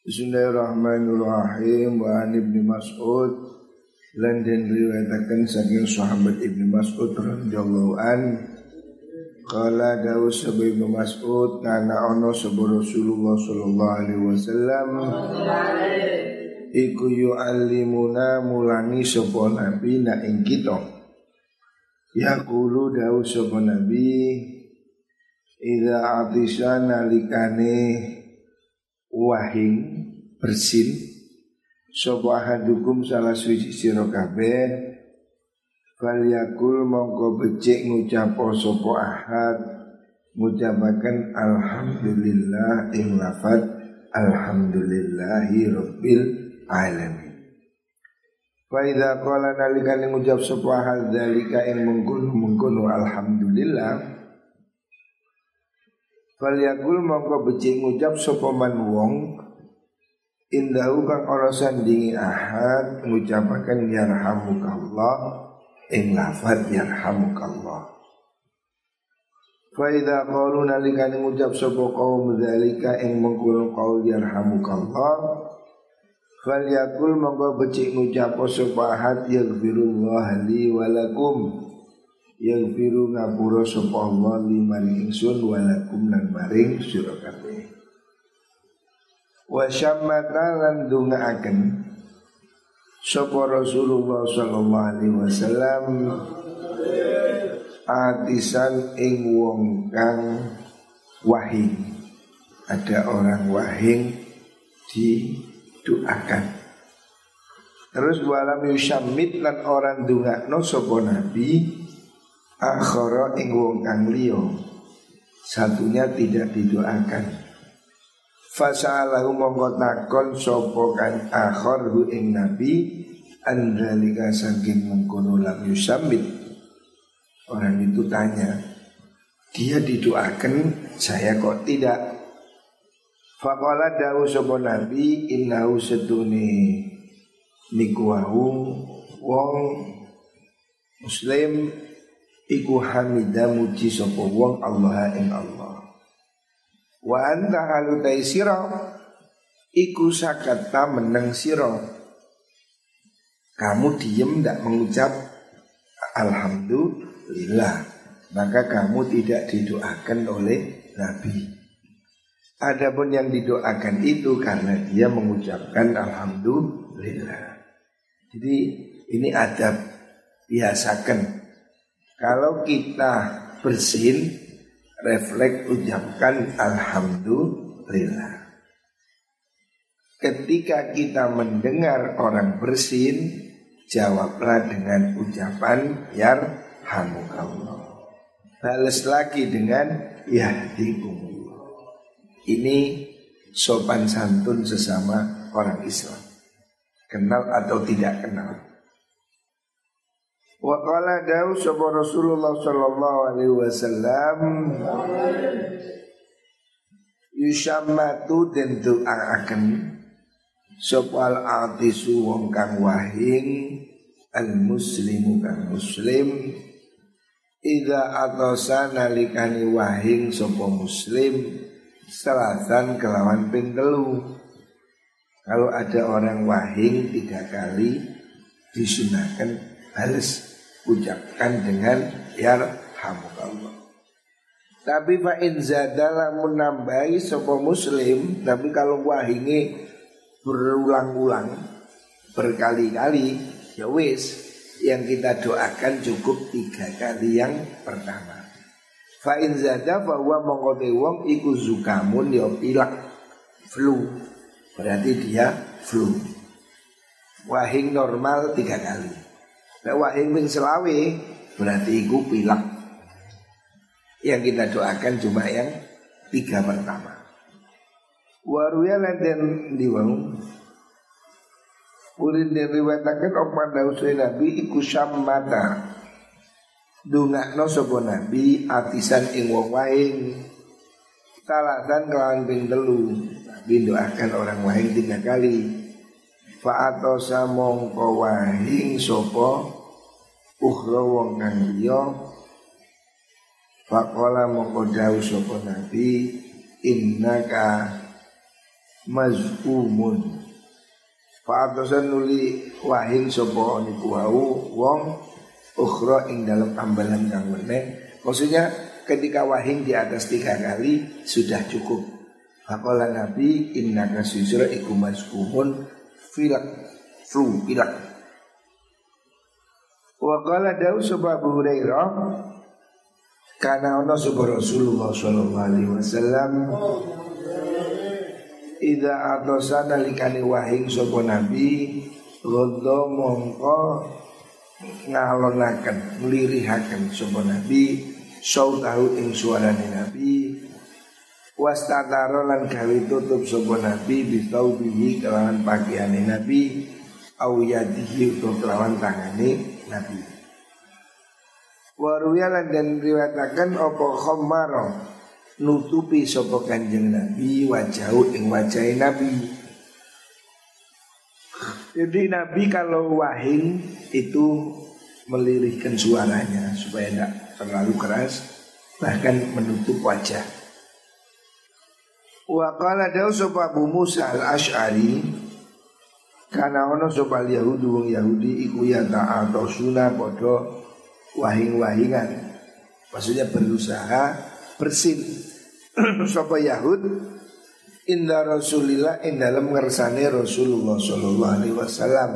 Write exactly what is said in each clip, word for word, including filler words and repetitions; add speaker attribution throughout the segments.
Speaker 1: Bismillahirrahmanirrahim. Wa an Ibnu Mas'ud lan den riwayataken saking sahabat Ibnu Mas'ud radhiyallahu an qala dawu sahabat Ibnu Mas'ud kana ana sahabat Rasulullah sallallahu alaihi wasallam iku yu'allimuna mulangi sapa nabi na ing kita yaqulu dawu sapa nabi idza atisana likane wahing bersin sapa ahadukum salah suci sira kabeh falyakul mongko becik ngucap sapa ahad ngucapaken alhamdulillah ing lafaz alhamdulillahi rabbil alamin. Fa idza qala nalikane ngucap sapa ahad zalika ing mengkono-mengkono alhamdulillah falyakul mongko becik ngucap sapa man wong indahu kang ora sandingi ahad ngucapaken yarhamukallah ing lafaz yarhamukallah. Fa idza qalu nalikane ngucap sapa kaum zalika ing mengkono qaul yarhamukallah falyakul mongko becik ngucap sapa ahad yaghfirullah li wa lakum yaghfiru ngapura sapa Allah li maring ingsun wa lakum lan maring sira kabeh. Wa syammata lan dungaaken sapa Rasulullah sallallahu alaihi wasallam atisan ing wong kang wahing. Ada orang wahing didoakan. Terus walam yusyammit lan orang dungakno sapa nabi akhara ing wong kang liya. Satunya tidak didoakan. Fasa'alahu mongko takon sapa kan akhar hu ing nabi andalika saking mengkono lam yusammit. Orang itu tanya, dia didoakan, saya kok tidak. Faqala dawu sapa nabi innahu sedune niku wong muslim iku hamida muji sapa wong Allah ing Allah. Wa anta halutai sira iku sakata meneng sira. Kamu diem tidak mengucap alhamdulillah, maka kamu tidak didoakan oleh Nabi. Adapun yang didoakan itu karena dia mengucapkan alhamdulillah. Jadi ini adab, biasakan. Kalau kita bersin refleks ucapkan alhamdulillah. Ketika kita mendengar orang bersin, jawablah dengan ucapan yarhamukallah. Balas lagi dengan yahdikumullah. Ini sopan santun sesama orang Islam, kenal atau tidak kenal. Wa qala dawu sapa Rasulullah sallallahu alaihi wasallam yushammatu den doaaken sapa al-atisu wong kang wahing al-muslimu kang muslim idza atasa nalikani wahing sapa muslim salasan kelawan ping telu. Kalau ada orang wahing tiga kali disunahkan balas ucapkan dengan yarhamukallah. Tapi fa in zadala menambahi sapa muslim, tapi kalau wahinge berulang-ulang berkali-kali ya wis yang kita doakan cukup tiga kali yang pertama. Fa in zada fa huwa mongko wong iku zukamun ya pilek flu. Berarti dia flu. Wahing normal tiga kali. Nek wahing ping selawe berarti iku pilek. Yang kita doakan cuma yang tiga pertama. Waruya lanten diwang ulin diriwayataken apa dawuh Nabi iku syammata. Dungakno sapa Nabi atisan ing wong wahing. Talasan kelawan ping telu. Nabi doakan orang wahing tiga kali. Fa'atosa mongko wahing sapa ukhra wong kang liya. Faqala mongko dawuh sapa Nabi innaka mazkumun. Fa'atosan nuli wahing sapa niku wau wong ukhra ing dalam ambalan kang meneh. Maksudnya ketika wahing di atas tiga kali sudah cukup. Faqala Nabi innaka sujra iku mazkumun filak flu filak. Wa qala dawu sapa Abu Hurairah kana ana sapa Rasulullah sallallahu alaihi wasallam idza atosana likani wahing sapa Nabi ghadha mongko ngalonaken nglirihaken sapa Nabi sautahu ing suarane Nabi wastataro lan gawe tutup sapa Nabi bitaubihi kelawan pakaiane Nabi au yadihi utawa kelawan tangane Nabi. Waruyalan dan riwayataken apa khamara nutupi sapa Kanjeng Nabi wajahu ing wajahe Nabi. Jadi Nabi kalau wahing itu melirihkan suaranya supaya tidak terlalu keras, bahkan menutup wajah. Wa qala dawu sapa Abu Musa al-Asy'ari kana ono sapa Yahudi wong Yahudi iku ya ta'atosuna padha wahing-wahingan. Maksudnya berusaha bersin sapa Yahud inda Rasulillah ing dalam ngersane Rasulullah sallallahu alaihi wasallam.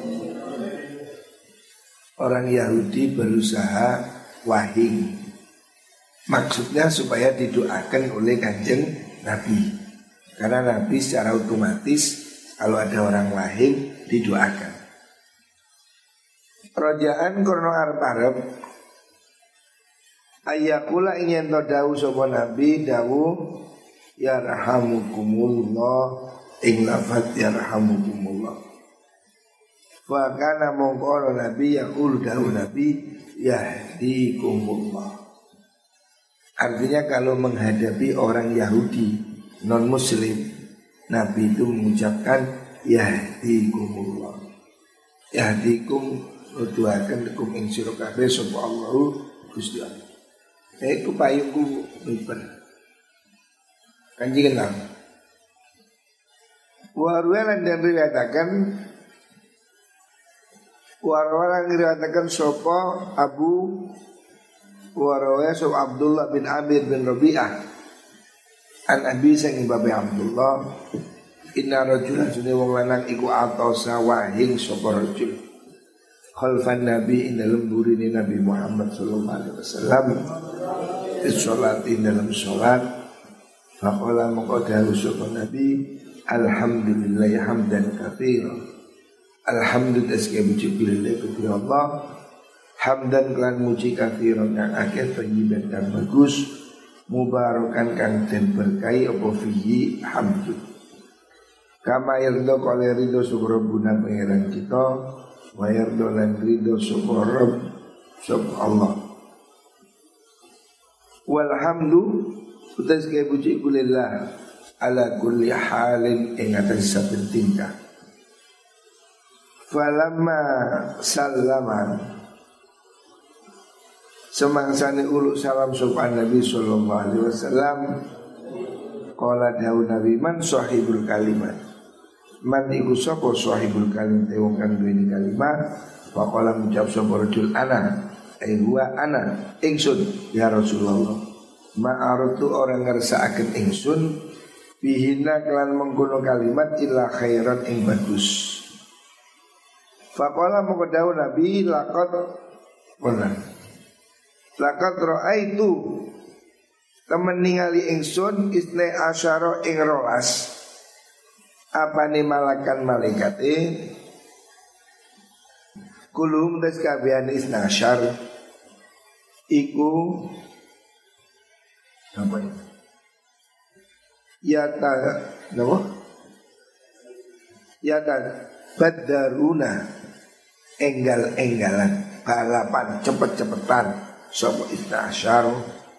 Speaker 1: Orang Yahudi berusaha wahing, maksudnya supaya didoakan oleh Kanjeng Nabi. Karena Nabi secara otomatis kalau ada orang wahing didoakan. Rojaan korno arep-arep ayakula ingin to dawu sapa Nabi dawu yarhamukumullah ing lafaz yarhamukumullah. Fa kana mongko Nabi yaqul dawu Nabi yahdikumullah. Artinya kalau menghadapi orang Yahudi non muslim, Nabi itu mengucapkan yahdikumullah. Yahdikum nuduhaken kum ing sira kabeh sapa Allahu Gusti Allah. Eh kupayungku miber. Kanjeng Nabi. Warwalan dan riwayatakan warwalan riwayatakan sapa Abu Warawaya sop Abdullah bin Amir bin Rabi'ah an Abi Sa'id bin Abdullah inna rajulan sunni wong lanang iku atosa wahing sapa rajul khalfan Nabi ing dalem burine Nabi Muhammad sallallahu alaihi wasallam salat ing dalam salat faqala mongko dawuh sapa Nabi alhamdulillah hamdan katsiran alhamdulillah segala puji bagi Allah hamdan kelan muji katsiran kang akeh thayyiban kang bagus mubarakan kang den berkahi apa fihi hamdu kama yarda kale ridho syukur guna pangeran kita wa yarda lan ridho syukur rabb sub Allah walhamdu utas kaya puji kulillah ala kulli halin ing atas saben tingkah falamma sallama semangsane uluk salam sopan Nabi sallallahu alaihi wasallam qala dawu Nabi man sahibul kalimat man iku sapa sahibul kalimat wong kang duweni kalimat faqala ngucap sapa rajul ana ai huwa ana ingsun ya Rasulullah ma'aratu orang ngersakaken ingsun bihina kelan mengkono kalimat illa khairan ing bagus faqala moko dawu Nabi laqad benar Lakat ra'aitu temen ningali ingsun isne asyara ing rolas apane malakan malaikate kulum des kabian isna asyar iku apa ini ya ta napa ya ta badaruna enggal-enggalan balapan cepet-cepetan sapa isna asyar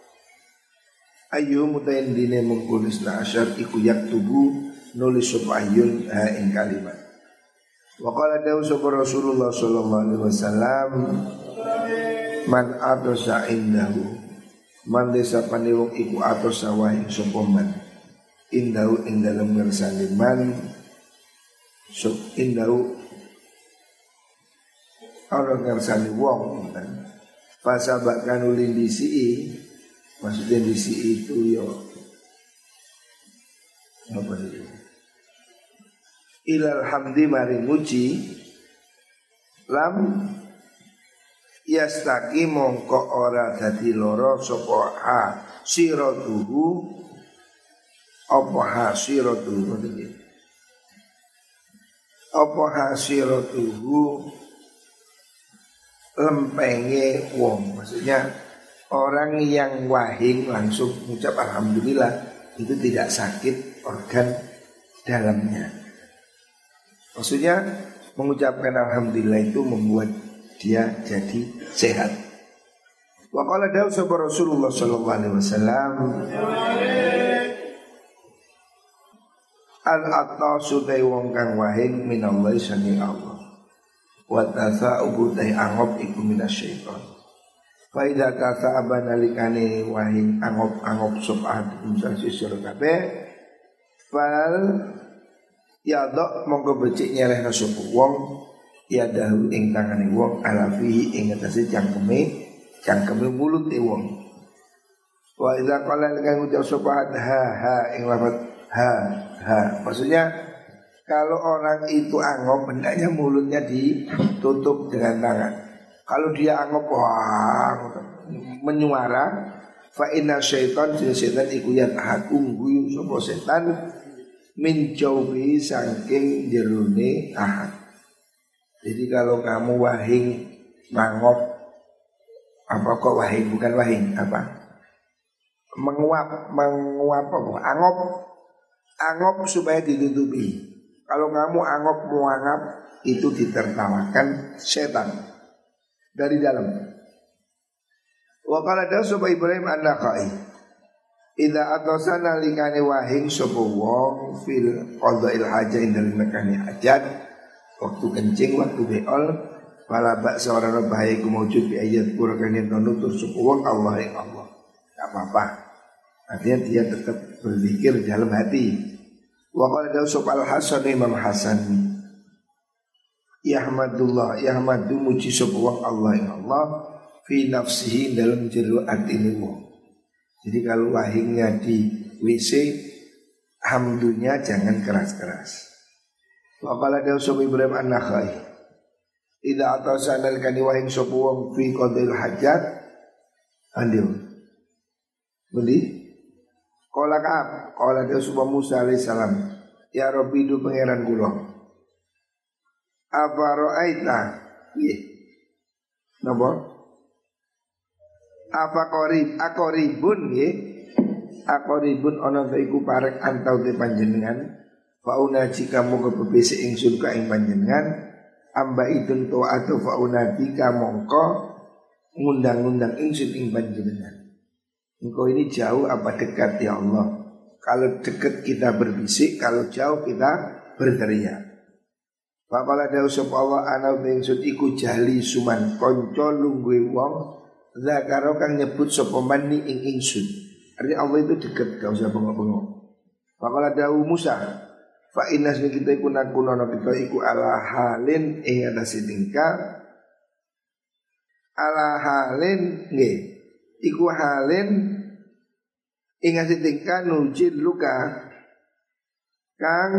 Speaker 1: ayu mutayin dine mengkul isna asyar iku yaktubu nulis sapa ayun ha ing kalimat wa qala dawu sapa Rasulullah sallallahu alaihi wasallam man atosa indahu man desa pane wong iku atosa wae sapa man indau ing dalem ngersane man sub indau ana ngersane wong kan fasa bakkan ulin disi maksudnya disi itu yo apa itu ilal hamdi mari muji lam yastaki mongko ora dadi loro sapa ha siratuhu apa ha siratuhu apa ha siratuhu lempenge wong, maksudnya orang yang wahing langsung mengucap alhamdulillah itu tidak sakit organ dalamnya. Maksudnya mengucapkan alhamdulillah itu membuat dia jadi sehat. Wa qala dawu sapa Rasulullah sallallahu alaihi wasallam al-atasu dai wong kang wahing minallahi saking Allah. Wa tasa'ubu dai angop iku minasyaiton. Fa idza tasa'aba nalikane wahing angop-angop sapa sasi sira kabeh fal ya dok monggo becik nyelehna sapa wong ya dahu ing tangane wong ala fihi ing atase cangkeme cangkeme mulut e wong. Wa idza qala lan ngucap sapa ha ha ing lafaz ha ha maksudnya kalau orang itu angop hendaknya mulutnya ditutup dengan tangan. Kalau dia angop wah menyuara fa inna syaitan setan iku yatahakum guyu sapa setan min jauhi saking jerone ahad. Jadi kalau kamu wahing mangop apa kok wahing bukan wahing apa menguap menguap apa angop angop supaya ditutupi. Kalau kamu angop muangap itu ditertawakan setan dari dalam. Wa qala da sapa Ibrahim an-Nakhai idza atasana likane wahing sapa wong fil qada'il hajah indal nekane hajat waktu kencing waktu beol wala bak seorang bahaya ku maujud bi ayat Qur'an yang nutur sapa wong Allah yang Allah. Enggak apa-apa. Artinya dia tetap berzikir dalam hati. Wa qala dawu sapa al-Hasan Imam Hasan yahmadullah yahmadu muji sapa wong Allah ing Allah fi nafsihi dalam jero atine wong. Jadi kalau wahingnya di W C hamdunya jangan keras-keras. Wa qala dawu sapa Ibrahim an-Nakhai idza atasana al-kani wahing sapa wong fi qadil hajat andiu. Beli Qala Ka'ab, qala dia subha Musa alaihi salam, ya Rabbi du pangeran kula. Apa ra'aita? Nggih. Napa? Apa qarib, aqribun nggih. Aqribun ana ta iku parek antau te panjenengan. Fauna jika mongko bebese ingsun ka ing panjenengan, amba idun to atau fauna jika mongko ngundang-undang ingsun ing panjenengan. Engkau ini jauh apa dekat ya Allah? Kalau dekat kita berbisik, kalau jauh kita berteriak. Faqala dawu sapa Allah ana ingsun iku jahli suman kanca lungguhe wong zakaro kang nyebut sapa mani ing ingsun. Artinya Allah itu dekat, gak usah bengok-bengok. Faqala dawu Musa fa inna kita iku nakunono kita iku ala halin ing atase tingkah ala halin nggih. Iku halin ingat tingkah nujil luka kang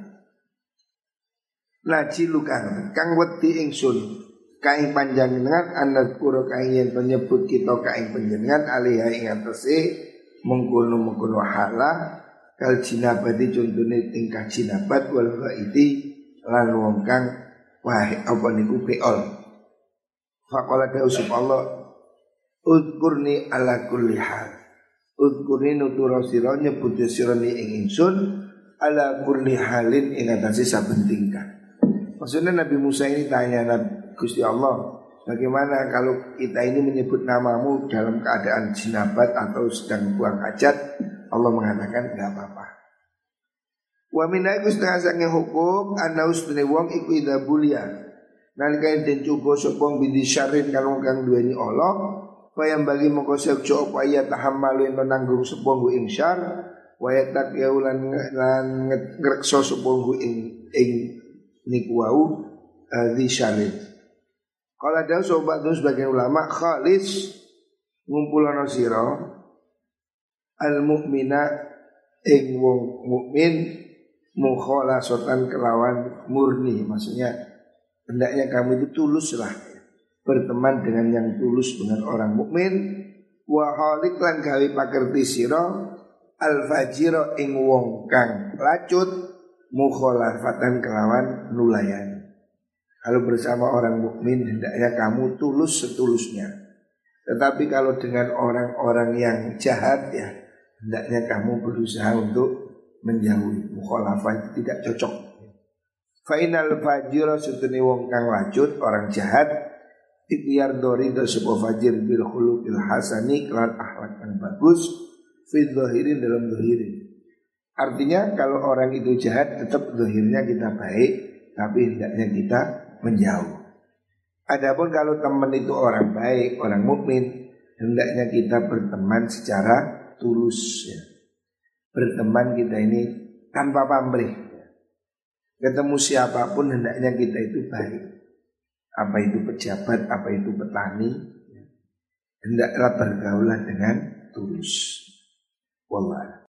Speaker 1: naji luka kang wedi ingsun kaing panjenengan anak kuro kaing yen penyebut kita kaing panjenengan alih ing atase mengkono-mengkono hala kal jinabati contone tingkah jinabat wal ghaiti lan wong kang wah apa niku beol. Faqala dawu Allah udkurni ala kulli hal. Udkurni nutura sira nyebut sira ni ing ingsun ala kulli halin ing atase saben tingkah. Maksudnya Nabi Musa ini tanya Nabi Gusti Allah, bagaimana kalau kita ini menyebut namamu dalam keadaan jinabat atau sedang buang hajat? Allah mengatakan enggak apa-apa. Wa min aiku setengah sange hukum ana ustune wong iku ida bulia. Nalika den coba sapa bidi syarin kalau kang duweni Allah Fayam bagi mongko sejo apa ya tahammalu ento nanggung sebuah ing syar wayatak yaulan lan ngrekso supunggu ing ing niku wau di syarif. Kalau ada sobat tu sebagian ulama khalis ngumpulana sira al mukmina ing wong mukmin mukhalasatan kelawan murni, maksudnya hendaknya kamu itu tuluslah berteman dengan yang tulus dengan orang mukmin. Wa halik lan gawe pakerti sira al fajira ing wong kang lacut mukhalafatan kelawan nulayan. Kalau bersama orang mukmin hendaknya kamu tulus setulusnya. Tetapi kalau dengan orang-orang yang jahat ya hendaknya kamu berusaha untuk menjauhi. Mukhalafah itu tidak cocok. Fa inal fajira setune wong kang lacut orang jahat ikhtiar dori do sebuah fajir bil khuluqil hasani kelan akhlak yang bagus fi dhahirin dalam dhahirin. Artinya kalau orang itu jahat tetap dhahirnya kita baik, tapi hendaknya kita menjauh. Adapun kalau teman itu orang baik, orang mukmin, hendaknya kita berteman secara tulus ya. Berteman kita ini tanpa pamrih. Ketemu siapapun hendaknya kita itu baik. Apa itu pejabat, apa itu petani, hendaklah bergaulah dengan tulus. Wallah.